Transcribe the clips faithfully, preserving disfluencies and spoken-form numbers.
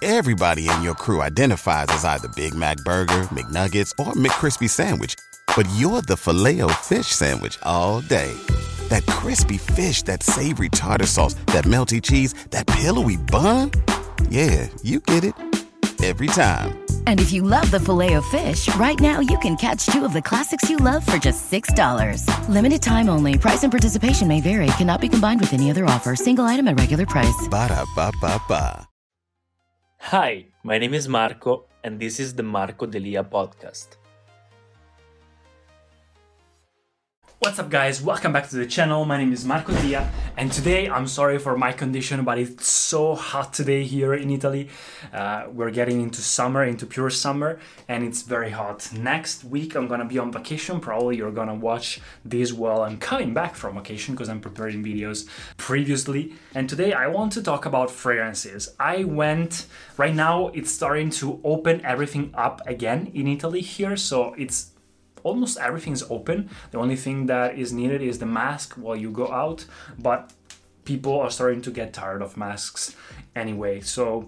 Everybody in your crew identifies as either Big Mac Burger, McNuggets, or McCrispy Sandwich. But you're the Filet-O-Fish Sandwich all day. That crispy fish, that savory tartar sauce, that melty cheese, that pillowy bun. Yeah, you get it. Every time. And if you love the Filet-O-Fish, right now you can catch two of the classics you love for just six dollars. Limited time only. Price and participation may vary. Cannot be combined with any other offer. Single item at regular price. Ba-da-ba-ba-ba. Hi, my name is Marco, and this is the Marco Delia podcast. What's up, guys? Welcome back to the channel. My name is Marco Delia, and today, I'm sorry for my condition, but it's so hot today here in Italy. Uh, we're getting into summer, into pure summer, and it's very hot. Next week, I'm gonna be on vacation. Probably you're gonna watch this while I'm coming back from vacation because I'm preparing videos previously. And today, I want to talk about fragrances. I went, right now, it's starting to open everything up again in Italy here, so it's almost everything is open. The only thing that is needed is the mask while you go out, but people are starting to get tired of masks anyway. So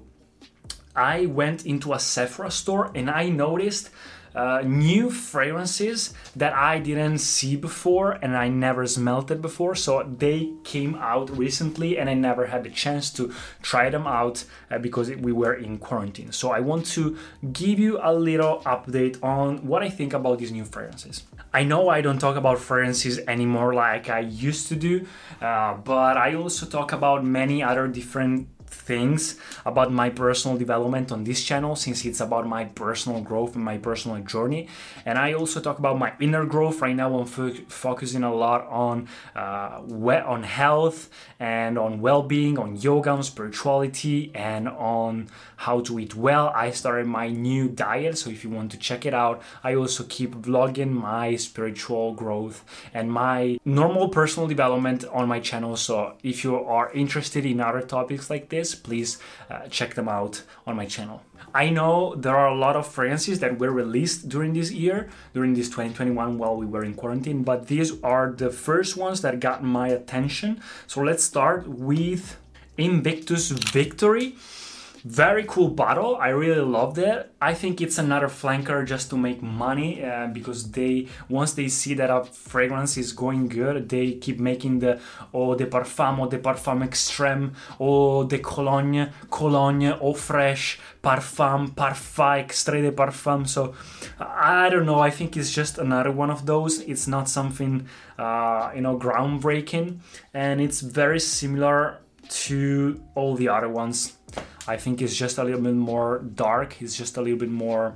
I went into a Sephora store and I noticed uh, new fragrances that I didn't see before and I never smelled it before. So they came out recently and I never had the chance to try them out uh, because we were in quarantine. So I want to give you a little update on what I think about these new fragrances. I know I don't talk about fragrances anymore like I used to do, uh, but I also talk about many other different things about my personal development on this channel, since it's about my personal growth and my personal journey. And I also talk about my inner growth. Right now I'm fo- focusing a lot on uh, we- on health and on well-being, on yoga, on spirituality, and on how to eat well. I started my new diet, so if you want to check it out, I also keep vlogging my spiritual growth and my normal personal development on my channel. So if you are interested in other topics like this, please uh, check them out on my channel. I know there are a lot of fragrances that were released during this year, during this twenty twenty-one while we were in quarantine, but these are the first ones that got my attention. So let's start with Invictus Victory. Very cool bottle. I really loved it. I think it's another flanker just to make money uh, because they, once they see that a fragrance is going good, they keep making the Eau de Parfum, Eau de Parfum Extrême, Eau de Cologne, Cologne, Eau Fraiche, Parfum, Parfum, Extrait de Parfum. So I don't know. I think it's just another one of those. It's not something, uh, you know, groundbreaking, and it's very similar to all the other ones. I think it's just a little bit more dark. It's just a little bit more,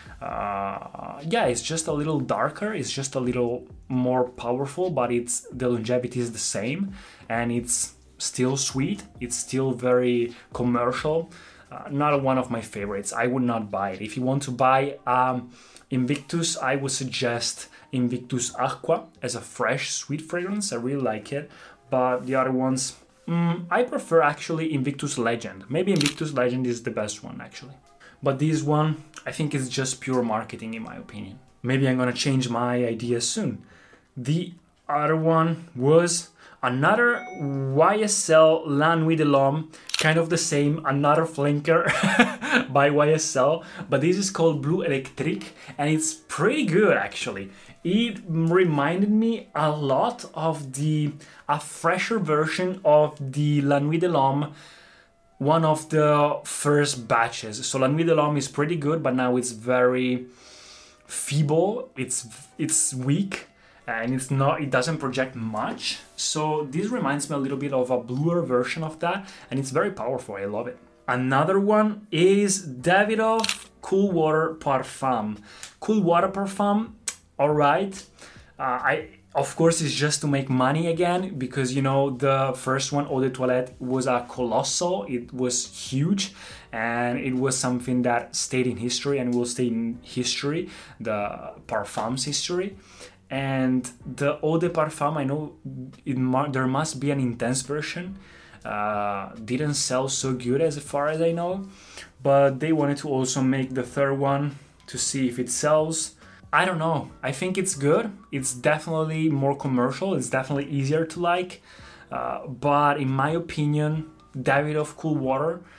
uh, yeah, it's just a little darker. It's just a little more powerful, but it's the longevity is the same, and it's still sweet. It's still very commercial. Uh, not one of my favorites. I would not buy it. If you want to buy um, Invictus, I would suggest Invictus Aqua as a fresh, sweet fragrance. I really like it, but the other ones, Mm, I prefer actually Invictus Legend. Maybe Invictus Legend is the best one actually. But this one, I think is just pure marketing in my opinion. Maybe I'm gonna change my idea soon. The other one was another Y S L La Nuit de l'Homme, kind of the same, another flanker by Y S L, but this is called Blue Electric and it's pretty good actually. It reminded me a lot of the a fresher version of the La Nuit de l'Homme, one of the first batches. So La Nuit de l'Homme is pretty good, but now it's very feeble. It's it's weak and it's not. It doesn't project much. So this reminds me a little bit of a bluer version of that, and it's very powerful. I love it. Another one is Davidoff Cool Water Parfum. Cool Water Parfum. All right, uh, I of course it's just to make money again because you know the first one, Eau de Toilette, was a colossal. It was huge, and it was something that stayed in history and will stay in history, the parfums history. And the Eau de Parfum, I know it mu- there must be an intense version. Uh, didn't sell so good as far as I know, but they wanted to also make the third one to see if it sells. I don't know. I think it's good. It's definitely more commercial. It's definitely easier to like. Uh, but in my opinion, Davidoff Cool Water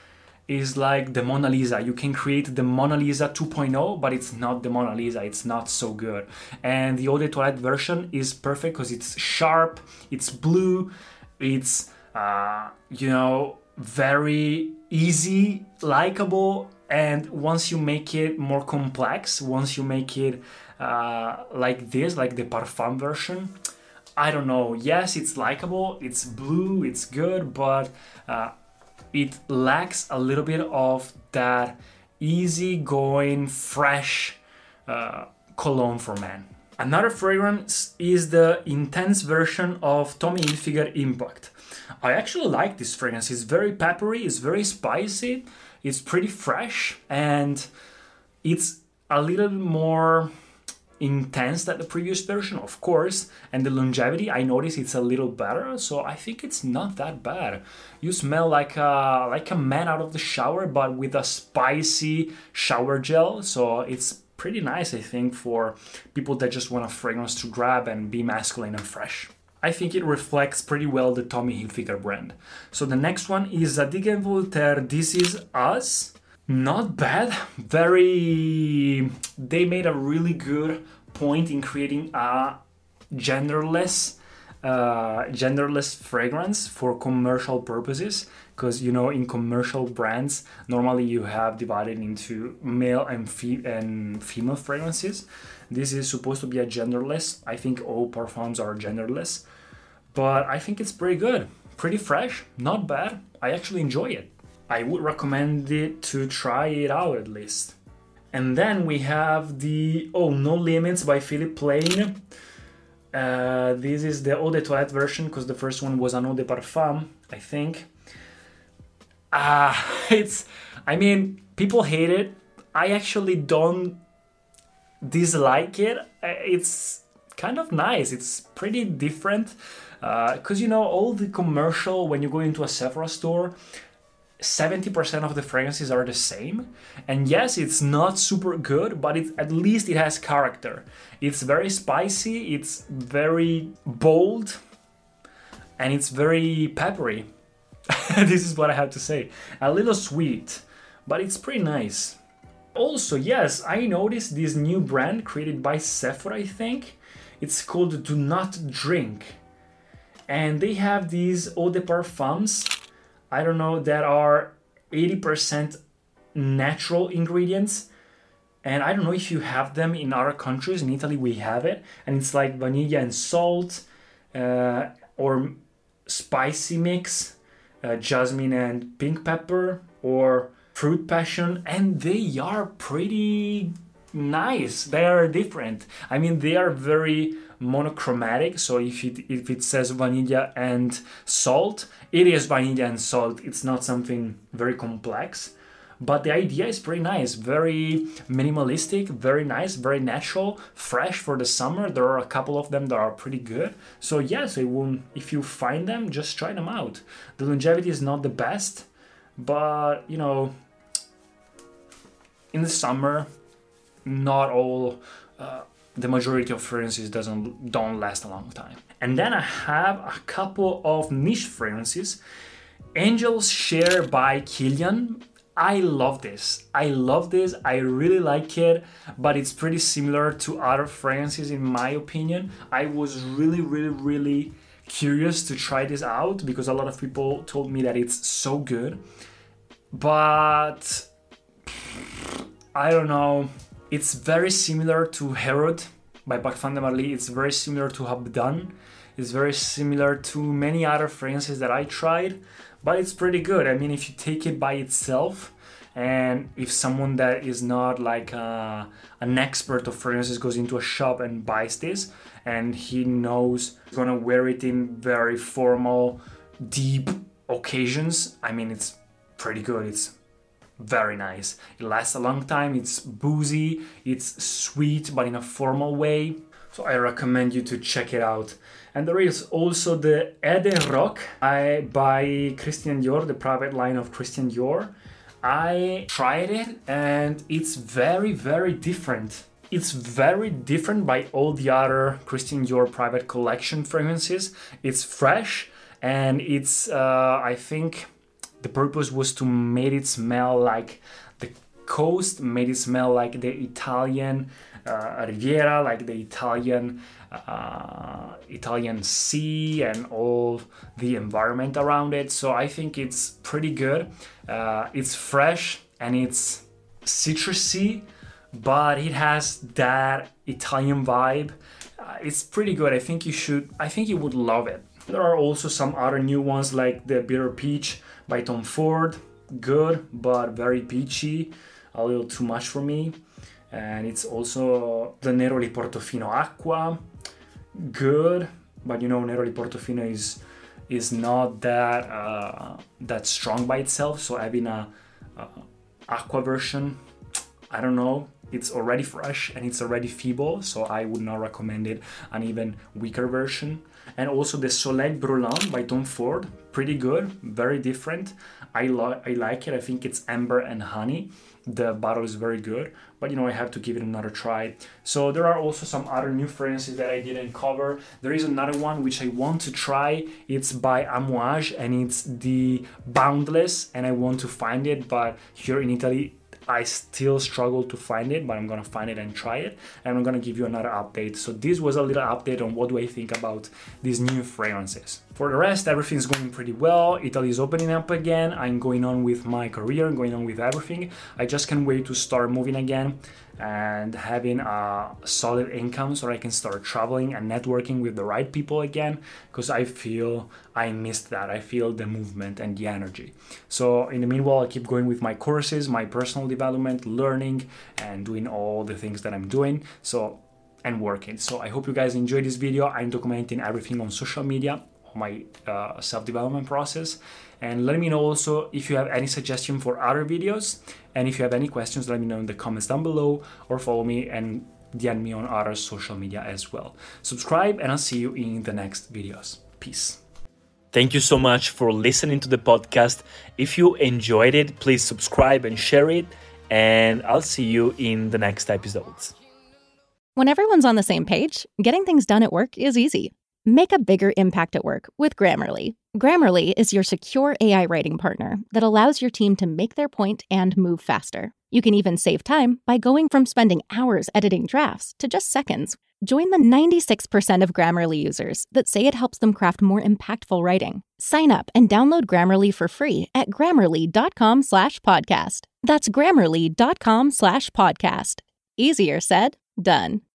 is like the Mona Lisa. You can create the Mona Lisa two point oh, but it's not the Mona Lisa. It's not so good. And the Eau de Toilette version is perfect because it's sharp, it's blue, it's, uh, you know, very easy, likable. And once you make it more complex, once you make it uh, like this, like the Parfum version, I don't know. Yes, it's likable, it's blue, it's good, but uh, it lacks a little bit of that easy-going, fresh uh, cologne for men. Another fragrance is the intense version of Tommy Hilfiger Impact. I actually like this fragrance. It's very peppery, it's very spicy, it's pretty fresh, and it's a little more intense than the previous version, of course, and the longevity, I notice it's a little better, so I think it's not that bad. You smell like a, like a man out of the shower, but with a spicy shower gel, so it's pretty nice, I think, for people that just want a fragrance to grab and be masculine and fresh. I think it reflects pretty well the Tommy Hilfiger brand. So the next one is Zadig and Voltaire This Is Us. Not bad, very, they made a really good point in creating a genderless, uh, genderless fragrance for commercial purposes, because, you know, in commercial brands, normally you have divided into male and, fe- and female fragrances. This is supposed to be a genderless. I think all parfums are genderless, but I think it's pretty good, pretty fresh, not bad. I actually enjoy it. I would recommend it to try it out at least. And then we have the Oh No Limits by Philippe Plein. Uh, this is the Eau de Toilette version because the first one was an Eau de Parfum, I think. Ah, uh, it's, I mean, people hate it. I actually don't dislike it. It's kind of nice. It's pretty different because, uh, you know, all the commercial, when you go into a Sephora store, seventy percent of the fragrances are the same, and yes, it's not super good, but it, at least it has character. It's very spicy, it's very bold, and it's very peppery. This is what I have to say. A little sweet, but it's pretty nice. Also, yes, I noticed this new brand created by Sephora, I think. It's called Do Not Drink, and they have these eau de parfums, I don't know, that are eighty percent natural ingredients. And I don't know if you have them in other countries. In Italy, we have it. And it's like vanilla and salt, uh, or spicy mix, uh, jasmine and pink pepper, or fruit passion. And they are pretty nice. They are different. I mean, they are very monochromatic, so if it if it says vanilla and salt, it is vanilla and salt. It's not something very complex, but the idea is pretty nice, very minimalistic, very nice, very natural, fresh for the summer. There are a couple of them that are pretty good, so yes, it will, if you find them, just try them out. The longevity is not the best, but you know, in the summer, not all uh, the majority of fragrances doesn't don't last a long time. And then I have a couple of niche fragrances. Angel's Share by Kilian. I love this. I love this. I really like it, but it's pretty similar to other fragrances in my opinion. I was really, really, really curious to try this out because a lot of people told me that it's so good. But I don't know. It's very similar to Herod by Parfums de Marly. It's very similar to Habdan. It's very similar to many other fragrances that I tried, but it's pretty good. I mean, if you take it by itself, and if someone that is not like a, an expert of fragrances goes into a shop and buys this, and he knows he's gonna wear it in very formal, deep occasions, I mean, it's pretty good. It's very nice. It lasts a long time. It's boozy. It's sweet, but in a formal way. So I recommend you to check it out. And there is also the Ede Rock I, by Christian Dior, the private line of Christian Dior. I tried it and it's very, very different. It's very different by all the other Christian Dior private collection fragrances. It's fresh and it's, uh, I think, the purpose was to make it smell like the coast, made it smell like the Italian uh, Riviera, like the Italian uh, Italian sea and all the environment around it. So I think it's pretty good. Uh, it's fresh and it's citrusy, but it has that Italian vibe. Uh, it's pretty good. I think you should, I think you would love it. There are also some other new ones like the Bitter Peach by Tom Ford. Good, but very peachy. A little too much for me. And it's also the Neroli Portofino Acqua. Good, but you know, Neroli Portofino is is not that uh, that strong by itself. So having a, a Aqua version, I don't know. It's already fresh and it's already feeble, so I would not recommend it. An even weaker version. And also the Soleil Brûlant by Tom Ford, pretty good, very different. I, lo- I like it. I think it's amber and honey. The bottle is very good, but you know, I have to give it another try. So there are also some other new fragrances that I didn't cover. There is another one which I want to try. It's by Amouage and it's the Boundless, and I want to find it, but here in Italy I still struggle to find it, but I'm gonna find it and try it, and I'm gonna give you another update. So this was a little update on what do I think about these new fragrances. For the rest, everything's going pretty well. Italy is opening up again. I'm going on with my career, going on with everything. I just can't wait to start moving again and having a solid income so I can start traveling and networking with the right people again, because I feel I missed that. I feel the movement and the energy. So in the meanwhile, I keep going with my courses, my personal development, learning, and doing all the things that I'm doing. So and working. So I hope you guys enjoyed this video. I'm documenting everything on social media, my uh, self-development process, and let me know also if you have any suggestion for other videos, and if you have any questions, let me know in the comments down below, or follow me and D M me on other social media as well. Subscribe, and I'll see you in the next videos. Peace. Thank you so much for listening to the podcast. If you enjoyed it, please subscribe and share it, and I'll see you in the next episodes. When everyone's on the same page, getting things done at work is easy. Make a bigger impact at work with Grammarly. Grammarly is your secure A I writing partner that allows your team to make their point and move faster. You can even save time by going from spending hours editing drafts to just seconds. Join the ninety-six percent of Grammarly users that say it helps them craft more impactful writing. Sign up and download Grammarly for free at grammarly.com slash podcast. That's grammarly.com slash podcast. Easier said, done.